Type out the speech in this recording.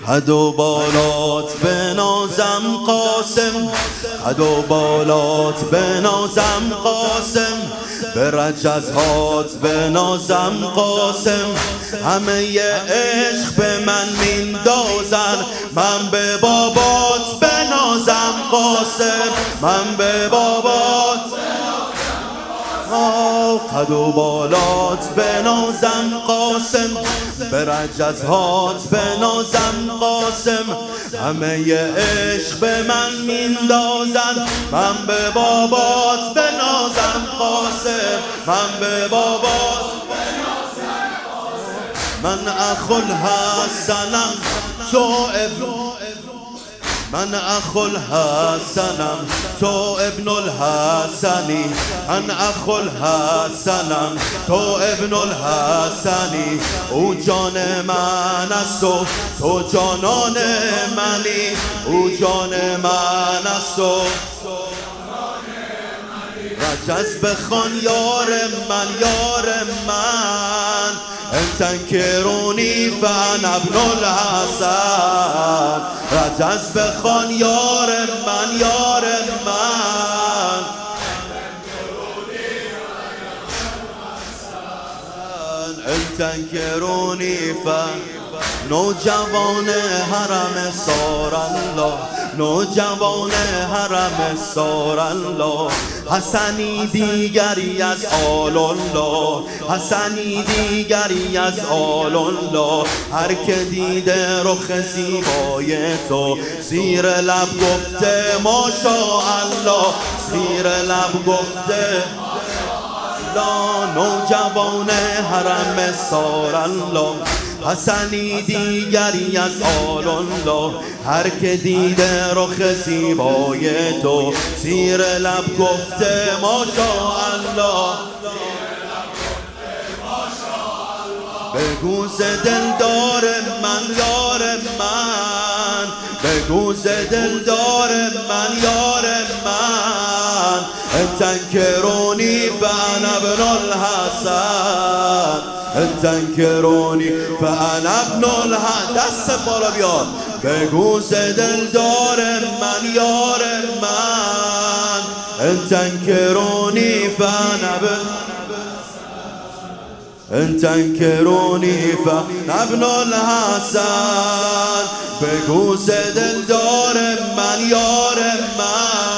قد و بالات بنازم قاسم، قد و بالات بنازم قاسم، به رجزهات بنازم قاسم. همه ی عشق به من میندازن، من به بابات بنازم قاسم، من به بابات قد و بالات بنازم قاسم، به رجزهات بنازم قاسم. همه ی عشق به من میندازن، من به بابات بنازم قاسم، من به بابات بنازم قاسم. من اخو الحسنم تو ابن، من اخو الحسنم تو ابن الحسنی، من اخو الحسنم تو ابن الحسنی. او جان من است و تو جانان منی، او جان من است و رجز بخوان یار من، یار من. ان تنکرونی فانا ابن الحسن، رجز بخوان یار من، یار من. ان تنکرونی نوجوان حرم سارالله، نوجوان حرم سارالله. حسنی دیگری از آل الله، حسنی دیگری از آل الله. هر که دیده رخ زیبای تو، زیر لب گفته ماشاءالله، زیر لب گفته نوجوان حرم سارالله. حسنی دیگری از آل الله، هر که دیده رخ زیبای تو، زیر لب گفته ماشاءالله. بگو ز دلدار من یار من، بگو ز دلدار من یار من. ان تنکرونی فانا ابن الحسن، ان تنکرونی فانا ابن الحسن. دست بالا بیار. بگو ز دلدار من یار من، ان تنکرونی فانا ابن، ان تنکرونی فانا ابن الحسن. بگو ز دلدار من یار من،